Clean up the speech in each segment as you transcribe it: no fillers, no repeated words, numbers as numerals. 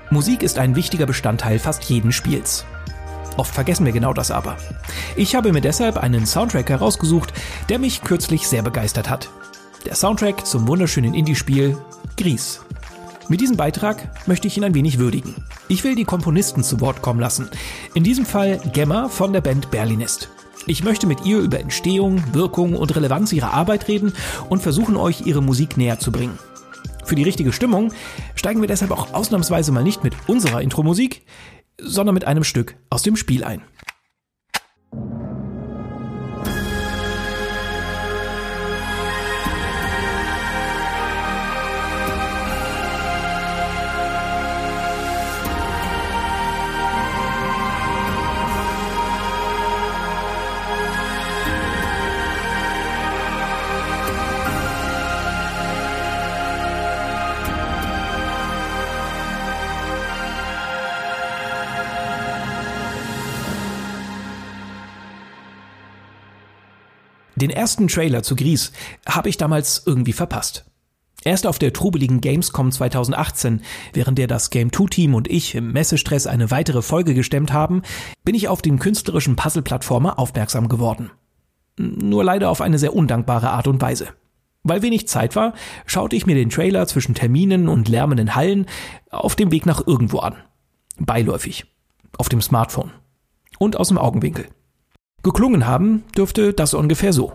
Musik ist ein wichtiger Bestandteil fast jeden Spiels. Oft vergessen wir genau das aber. Ich habe mir deshalb einen Soundtrack herausgesucht, der mich kürzlich sehr begeistert hat. Der Soundtrack zum wunderschönen Indie-Spiel Gris. Mit diesem Beitrag möchte ich ihn ein wenig würdigen. Ich will die Komponisten zu Wort kommen lassen. In diesem Fall Gemma von der Band Berlinist. Ich möchte mit ihr über Entstehung, Wirkung und Relevanz ihrer Arbeit reden und versuchen, euch ihre Musik näher zu bringen. Für die richtige Stimmung steigen wir deshalb auch ausnahmsweise mal nicht mit unserer Intro-Musik, sondern mit einem Stück aus dem Spiel ein. Den ersten Trailer zu Gris habe ich damals irgendwie verpasst. Erst auf der trubeligen Gamescom 2018, während der das Game 2-Team und ich im Messestress eine weitere Folge gestemmt haben, bin ich auf den künstlerischen Puzzle-Plattformer aufmerksam geworden. Nur leider auf eine sehr undankbare Art und Weise. Weil wenig Zeit war, schaute ich mir den Trailer zwischen Terminen und lärmenden Hallen auf dem Weg nach irgendwo an. Beiläufig. Auf dem Smartphone. Und aus dem Augenwinkel. Geklungen haben dürfte das ungefähr so.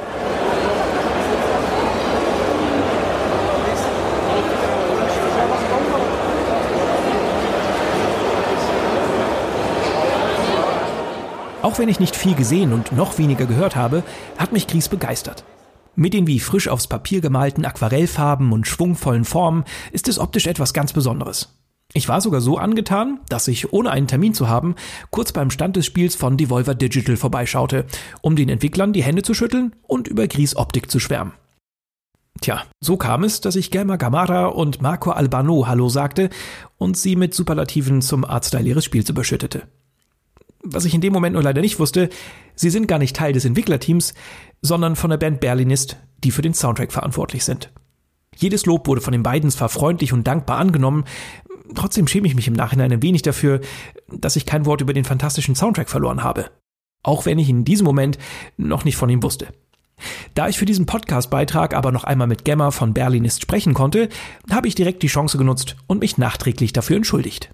Auch wenn ich nicht viel gesehen und noch weniger gehört habe, hat mich Gris begeistert. Mit den wie frisch aufs Papier gemalten Aquarellfarben und schwungvollen Formen ist es optisch etwas ganz Besonderes. Ich war sogar so angetan, dass ich, ohne einen Termin zu haben, kurz beim Stand des Spiels von Devolver Digital vorbeischaute, um den Entwicklern die Hände zu schütteln und über Gris Optik zu schwärmen. Tja, so kam es, dass ich Gelma Gamarra und Marco Albano Hallo sagte und sie mit Superlativen zum Artstyle ihres Spiels überschüttete. Was ich in dem Moment nur leider nicht wusste, sie sind gar nicht Teil des Entwicklerteams, sondern von der Band Berlinist, die für den Soundtrack verantwortlich sind. Jedes Lob wurde von den beiden zwar freundlich und dankbar angenommen, trotzdem schäme ich mich im Nachhinein ein wenig dafür, dass ich kein Wort über den fantastischen Soundtrack verloren habe. Auch wenn ich in diesem Moment noch nicht von ihm wusste. Da ich für diesen Podcast-Beitrag aber noch einmal mit Gemma von Berlinist sprechen konnte, habe ich direkt die Chance genutzt und mich nachträglich dafür entschuldigt.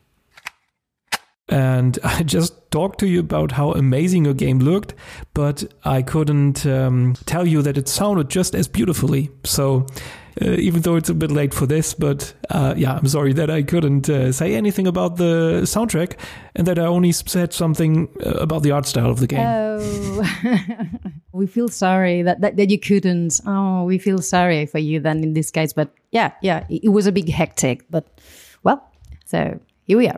And I just talked to you about how amazing your game looked, but I couldn't tell you that it sounded just as beautifully. So even though it's a bit late for this, but yeah, I'm sorry that I couldn't say anything about the soundtrack and that I only said something about the art style of the game. Oh, we feel sorry that you couldn't. Oh, we feel sorry for you then in this case. But yeah, it was a big hectic, but well, so here we are.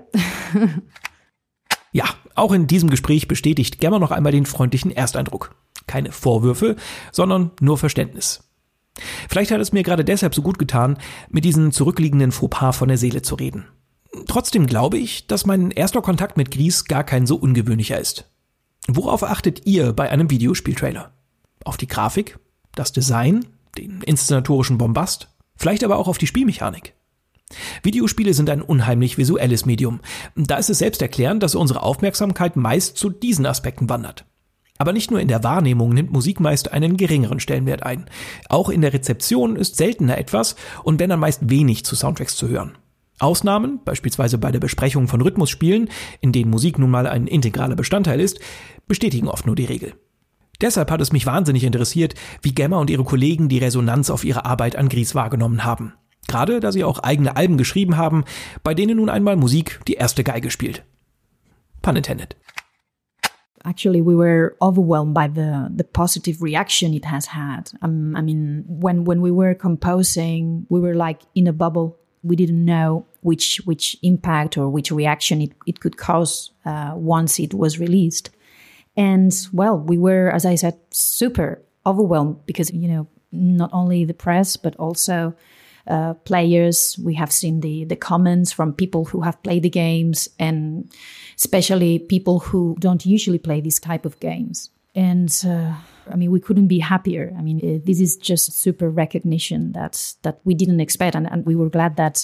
Ja, auch in diesem Gespräch bestätigt Gemma noch einmal den freundlichen Ersteindruck. Keine Vorwürfe, sondern nur Verständnis. Vielleicht hat es mir gerade deshalb so gut getan, mit diesen zurückliegenden Fauxpas von der Seele zu reden. Trotzdem glaube ich, dass mein erster Kontakt mit Gris gar kein so ungewöhnlicher ist. Worauf achtet ihr bei einem Videospieltrailer? Auf die Grafik, das Design, den inszenatorischen Bombast, vielleicht aber auch auf die Spielmechanik? Videospiele sind ein unheimlich visuelles Medium. Da ist es selbsterklärend, dass unsere Aufmerksamkeit meist zu diesen Aspekten wandert. Aber nicht nur in der Wahrnehmung nimmt Musik meist einen geringeren Stellenwert ein. Auch in der Rezeption ist seltener etwas und wenn dann meist wenig zu Soundtracks zu hören. Ausnahmen, beispielsweise bei der Besprechung von Rhythmusspielen, in denen Musik nun mal ein integraler Bestandteil ist, bestätigen oft nur die Regel. Deshalb hat es mich wahnsinnig interessiert, wie Gemma und ihre Kollegen die Resonanz auf ihre Arbeit an Gris wahrgenommen haben. Gerade da sie auch eigene Alben geschrieben haben, bei denen nun einmal Musik die erste Geige spielt. Pun intended. Actually, we were overwhelmed by the positive reaction it has had. I mean, when we were composing, we were like in a bubble. We didn't know which impact or which reaction it could cause once it was released. And well, we were, as I said, super overwhelmed because, you know, not only the press, but also players. We have seen the comments from people who have played the games and especially people who don't usually play this type of games. And I mean, we couldn't be happier. I mean, this is just super recognition that we didn't expect. And we were glad that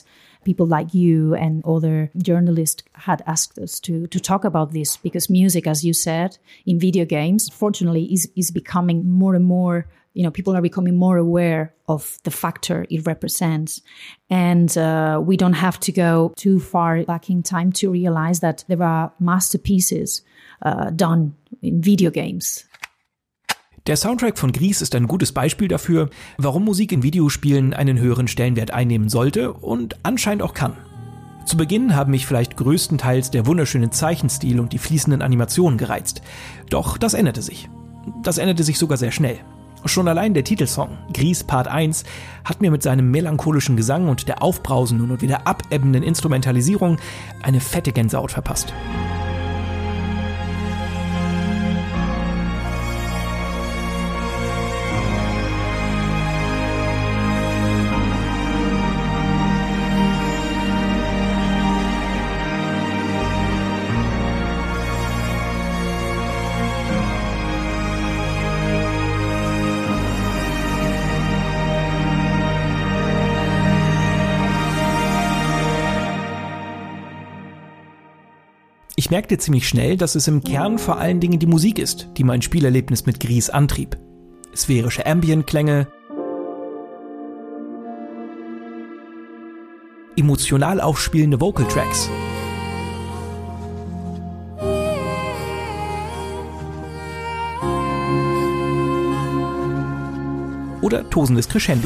people like you and other journalists had asked us to talk about this, because music, as you said, in video games, fortunately, is becoming more and more, people are becoming more aware of the factor it represents. And we don't have to go too far back in time to realize that there are masterpieces done in video games. Der Soundtrack von Gris ist ein gutes Beispiel dafür, warum Musik in Videospielen einen höheren Stellenwert einnehmen sollte und anscheinend auch kann. Zu Beginn haben mich vielleicht größtenteils der wunderschöne Zeichenstil und die fließenden Animationen gereizt. Doch das änderte sich. Das änderte sich sogar sehr schnell. Schon allein der Titelsong, Gris Part 1, hat mir mit seinem melancholischen Gesang und der aufbrausenden und wieder abebbenden Instrumentalisierung eine fette Gänsehaut verpasst. Ich merkte ziemlich schnell, dass es im Kern vor allen Dingen die Musik ist, die mein Spielerlebnis mit Gris antrieb. Sphärische Ambient-Klänge, emotional aufspielende Vocal-Tracks oder tosendes Crescendo.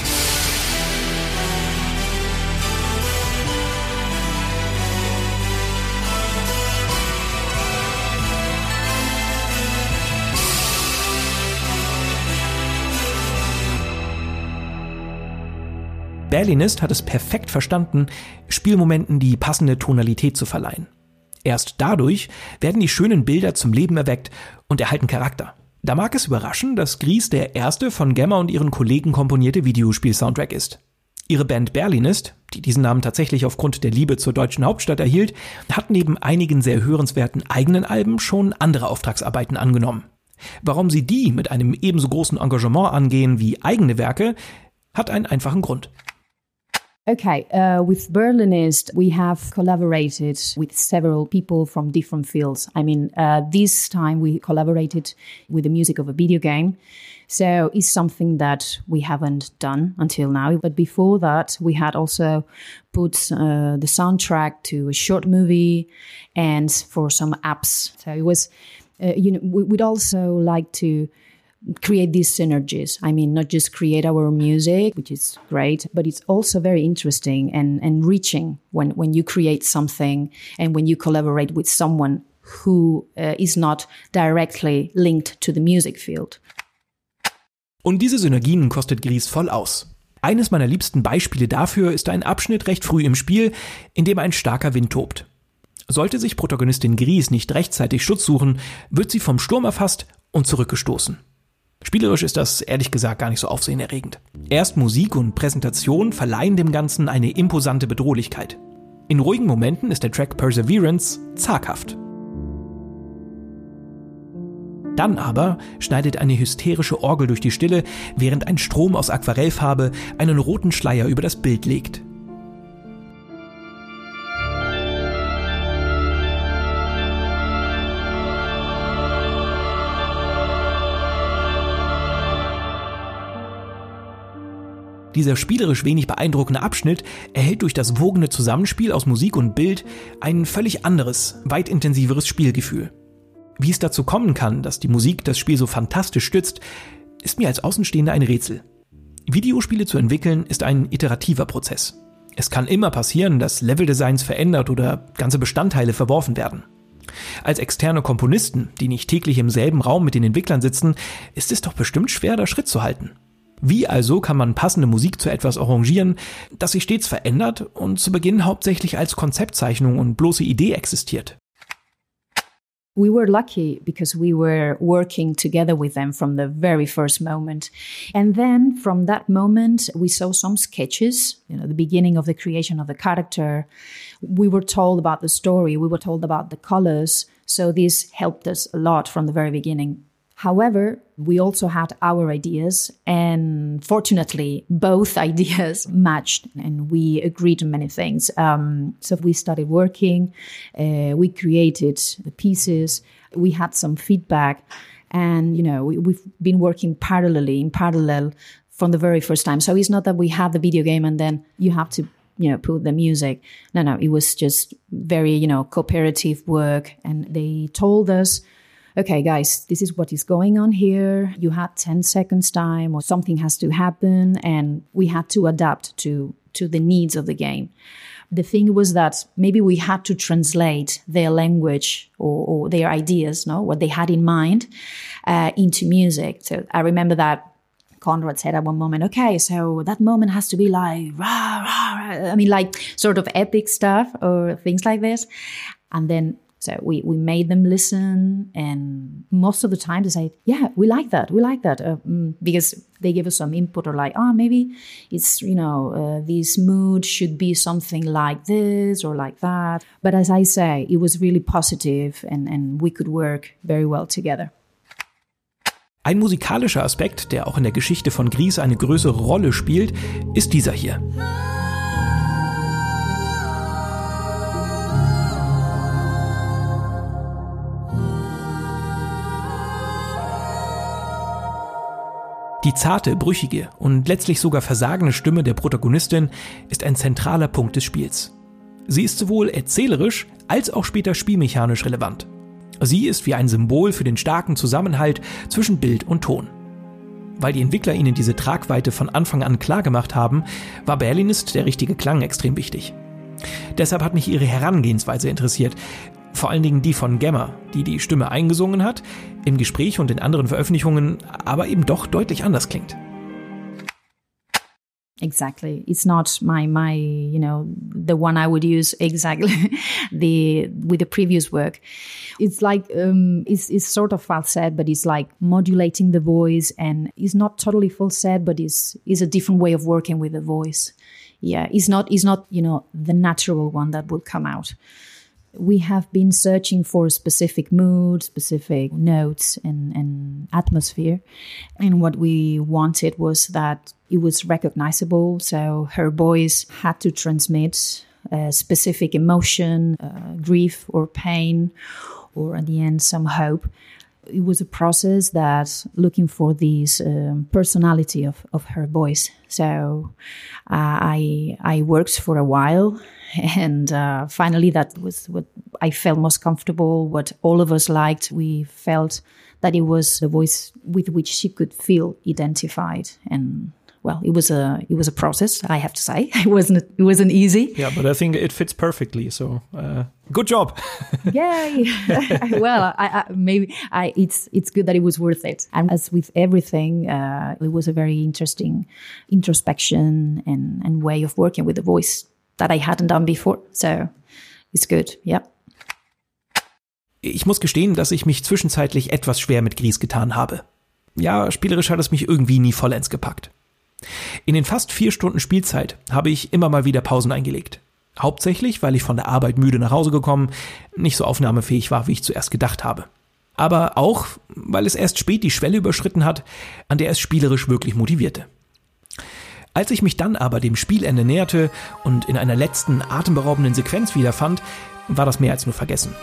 Berlinist hat es perfekt verstanden, Spielmomenten die passende Tonalität zu verleihen. Erst dadurch werden die schönen Bilder zum Leben erweckt und erhalten Charakter. Da mag es überraschen, dass Gris der erste von Gemma und ihren Kollegen komponierte Videospiel-Soundtrack ist. Ihre Band Berlinist, die diesen Namen tatsächlich aufgrund der Liebe zur deutschen Hauptstadt erhielt, hat neben einigen sehr hörenswerten eigenen Alben schon andere Auftragsarbeiten angenommen. Warum sie die mit einem ebenso großen Engagement angehen wie eigene Werke, hat einen einfachen Grund. Okay, with Berlinist, we have collaborated with several people from different fields. I mean, this time we collaborated with the music of a video game. So it's something that we haven't done until now. But before that, we had also put the soundtrack to a short movie and for some apps. So it was, we'd also like to create these synergies. I mean, not just create our music, which is great, but it's also very interesting and enriching when you create something and when you collaborate with someone who is not directly linked to the music field. Und diese Synergien kostet Gris voll aus. Eines meiner liebsten Beispiele dafür ist ein Abschnitt recht früh im Spiel, in dem ein starker Wind tobt. Sollte sich Protagonistin Gris nicht rechtzeitig Schutz suchen, wird sie vom Sturm erfasst und zurückgestoßen. Spielerisch ist das ehrlich gesagt gar nicht so aufsehenerregend. Erst Musik und Präsentation verleihen dem Ganzen eine imposante Bedrohlichkeit. In ruhigen Momenten ist der Track Perseverance zaghaft. Dann aber schneidet eine hysterische Orgel durch die Stille, während ein Strom aus Aquarellfarbe einen roten Schleier über das Bild legt. Dieser spielerisch wenig beeindruckende Abschnitt erhält durch das wogende Zusammenspiel aus Musik und Bild ein völlig anderes, weit intensiveres Spielgefühl. Wie es dazu kommen kann, dass die Musik das Spiel so fantastisch stützt, ist mir als Außenstehender ein Rätsel. Videospiele zu entwickeln ist ein iterativer Prozess. Es kann immer passieren, dass Leveldesigns verändert oder ganze Bestandteile verworfen werden. Als externe Komponisten, die nicht täglich im selben Raum mit den Entwicklern sitzen, ist es doch bestimmt schwer, da Schritt zu halten. Wie also kann man passende Musik zu etwas arrangieren, das sich stets verändert und zu Beginn hauptsächlich als Konzeptzeichnung und bloße Idee existiert? We were lucky because we were working together with them from the very first moment. And then from that moment, we saw some sketches, the beginning of the creation of the character. We were told about the story. We were told about the colors. So this helped us a lot from the very beginning. However, we also had our ideas, and fortunately, both ideas matched, and we agreed on many things. So we started working, we created the pieces, we had some feedback, and we've been working in parallel from the very first time. So it's not that we had the video game and then you have to put the music. No, it was just very cooperative work, and they told us, okay, guys, this is what is going on here. You had 10 seconds time, or something has to happen, and we had to adapt to the needs of the game. The thing was that maybe we had to translate their language or their ideas, what they had in mind, into music. So I remember that Conrad said at one moment, okay, so that moment has to be like, rah, rah, rah. I mean, like sort of epic stuff or things like this. And then so we made them listen, and most of the time they say, yeah, we like that, because they give us some input, or like, maybe it's, this mood should be something like this or like that. But as I say, it was really positive, and we could work very well together. Ein musikalischer Aspekt, der auch in der Geschichte von Gris eine größere Rolle spielt, ist dieser hier. Die zarte, brüchige und letztlich sogar versagende Stimme der Protagonistin ist ein zentraler Punkt des Spiels. Sie ist sowohl erzählerisch als auch später spielmechanisch relevant. Sie ist wie ein Symbol für den starken Zusammenhalt zwischen Bild und Ton. Weil die Entwickler ihnen diese Tragweite von Anfang an klar gemacht haben, war Berlinist der richtige Klang extrem wichtig. Deshalb hat mich ihre Herangehensweise interessiert, vor allen Dingen die von Gemma, die die Stimme eingesungen hat, im Gespräch und in anderen Veröffentlichungen aber eben doch deutlich anders klingt. Exactly. It's not my the one I would use exactly with the previous work. It's like it's sort of falsetto, but it's like modulating the voice, and it's not totally falsetto, but is a different way of working with the voice. Yeah, it's not the natural one that will come out. We have been searching for specific mood, specific notes and atmosphere. And what we wanted was that it was recognizable. So her voice had to transmit a specific emotion, grief or pain, or at the end, some hope. It was a process that looking for this personality of her voice. So I worked for a while, and finally that was what I felt most comfortable, what all of us liked. We felt that it was the voice with which she could feel identified. And well, it was a process, I have to say. It wasn't easy. Yeah, but I think it fits perfectly. So good job. Yay! Well, it's good that it was worth it. And as with everything, it was a very interesting introspection and way of working with the voice that I hadn't done before. So it's good. Yeah. Ich muss gestehen, dass ich mich zwischenzeitlich etwas schwer mit Gris getan habe. Ja, spielerisch hat es mich irgendwie nie vollends gepackt. In den fast 4 Stunden Spielzeit habe ich immer mal wieder Pausen eingelegt. Hauptsächlich, weil ich von der Arbeit müde nach Hause gekommen, nicht so aufnahmefähig war, wie ich zuerst gedacht habe. Aber auch, weil es erst spät die Schwelle überschritten hat, an der es spielerisch wirklich motivierte. Als ich mich dann aber dem Spielende näherte und in einer letzten atemberaubenden Sequenz wiederfand, war das mehr als nur vergessen.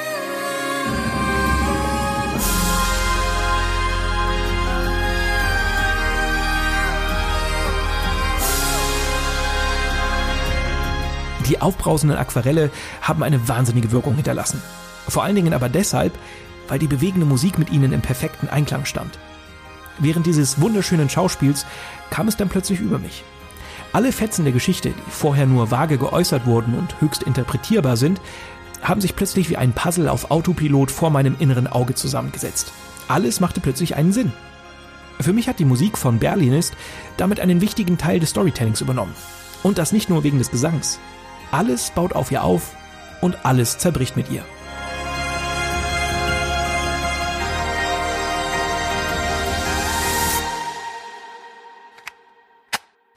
Die aufbrausenden Aquarelle haben eine wahnsinnige Wirkung hinterlassen. Vor allen Dingen aber deshalb, weil die bewegende Musik mit ihnen im perfekten Einklang stand. Während dieses wunderschönen Schauspiels kam es dann plötzlich über mich. Alle Fetzen der Geschichte, die vorher nur vage geäußert wurden und höchst interpretierbar sind, haben sich plötzlich wie ein Puzzle auf Autopilot vor meinem inneren Auge zusammengesetzt. Alles machte plötzlich einen Sinn. Für mich hat die Musik von Berlinist damit einen wichtigen Teil des Storytellings übernommen. Und das nicht nur wegen des Gesangs. Alles baut auf ihr auf und alles zerbricht mit ihr.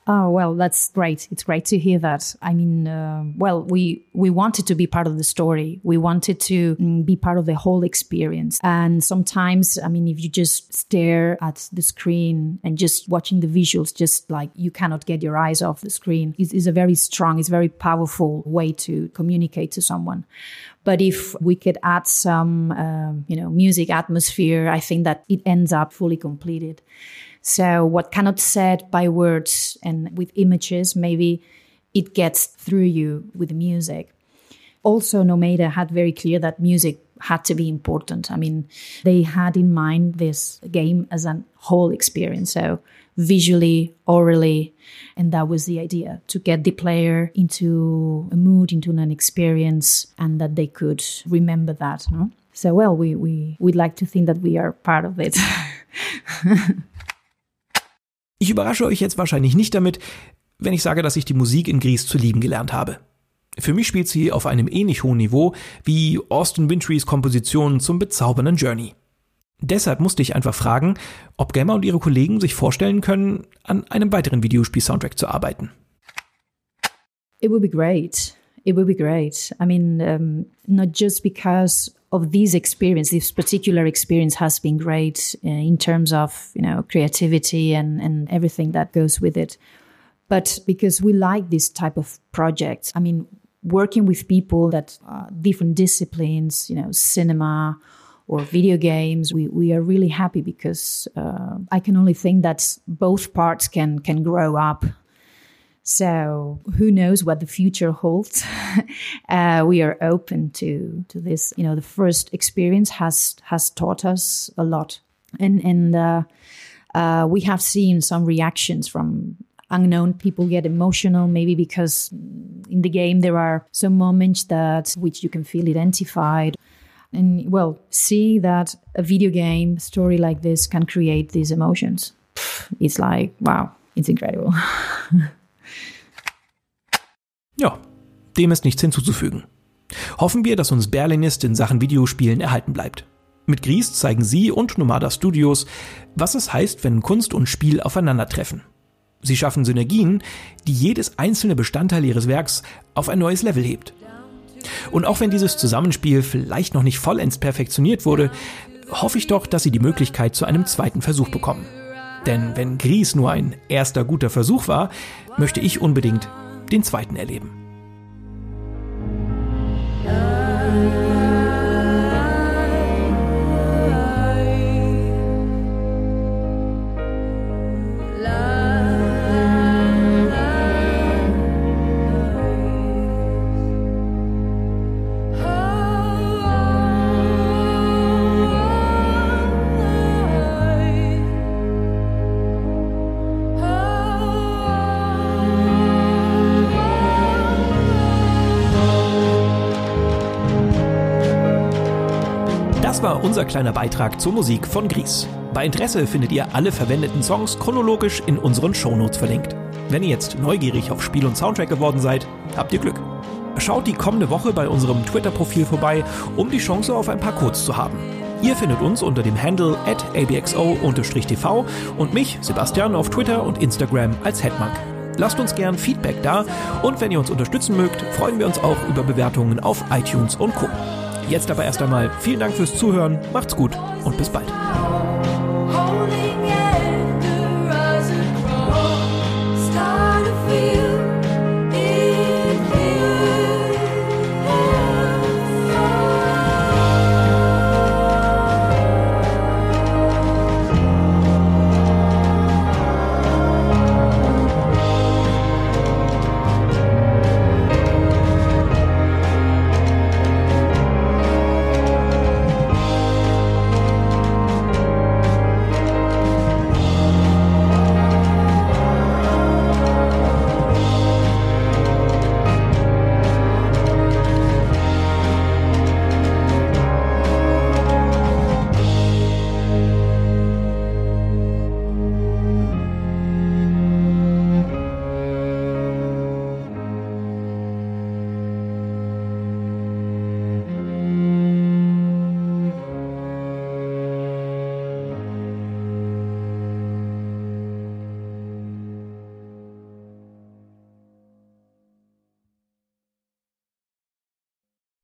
Oh, well, that's great. It's great to hear that. I mean, we wanted to be part of the story. We wanted to be part of the whole experience. And sometimes, I mean, if you just stare at the screen and just watching the visuals, just like you cannot get your eyes off the screen, is a very strong, it's a very powerful way to communicate to someone. But if we could add some, music atmosphere, I think that it ends up fully completed. So what cannot said by words and with images, maybe it gets through you with the music. Also, Nomada had very clear that music had to be important. I mean, they had in mind this game as a whole experience. So visually, orally, and that was the idea, to get the player into a mood, into an experience, and that they could remember that. No? So, well, we'd like to think that we are part of it. Ich überrasche euch jetzt wahrscheinlich nicht damit, wenn ich sage, dass ich die Musik in Gris zu lieben gelernt habe. Für mich spielt sie auf einem ähnlich hohen Niveau wie Austin Wintorys Kompositionen zum bezaubernden Journey. Deshalb musste ich einfach fragen, ob Gemma und ihre Kollegen sich vorstellen können, an einem weiteren Videospiel-Soundtrack zu arbeiten. It would be great. It would be great. I mean, not just because of this particular experience has been great in terms of, creativity and everything that goes with it. But because we like this type of projects. I mean, working with people that are different disciplines, cinema or video games, we are really happy because I can only think that both parts can grow up. So who knows what the future holds? We are open to this. The first experience has taught us a lot, and we have seen some reactions from unknown people get emotional, maybe because in the game there are some moments which you can feel identified. And well, see that a video game story like this can create these emotions. It's like, wow, it's incredible. Ja, dem ist nichts hinzuzufügen. Hoffen wir, dass uns Berlinist in Sachen Videospielen erhalten bleibt. Mit Gris zeigen sie und Nomada Studios, was es heißt, wenn Kunst und Spiel aufeinandertreffen. Sie schaffen Synergien, die jedes einzelne Bestandteil ihres Werks auf ein neues Level hebt. Und auch wenn dieses Zusammenspiel vielleicht noch nicht vollends perfektioniert wurde, hoffe ich doch, dass sie die Möglichkeit zu einem zweiten Versuch bekommen. Denn wenn Gris nur ein erster guter Versuch war, möchte ich unbedingt den zweiten erleben. Das war unser kleiner Beitrag zur Musik von Gris. Bei Interesse findet ihr alle verwendeten Songs chronologisch in unseren Shownotes verlinkt. Wenn ihr jetzt neugierig auf Spiel und Soundtrack geworden seid, habt ihr Glück. Schaut die kommende Woche bei unserem Twitter-Profil vorbei, um die Chance auf ein paar Codes zu haben. Ihr findet uns unter dem Handle @abxo_tv und mich, Sebastian, auf Twitter und Instagram als Headmonk. Lasst uns gern Feedback da und wenn ihr uns unterstützen mögt, freuen wir uns auch über Bewertungen auf iTunes und Co. Jetzt aber erst einmal vielen Dank fürs Zuhören, macht's gut und bis bald.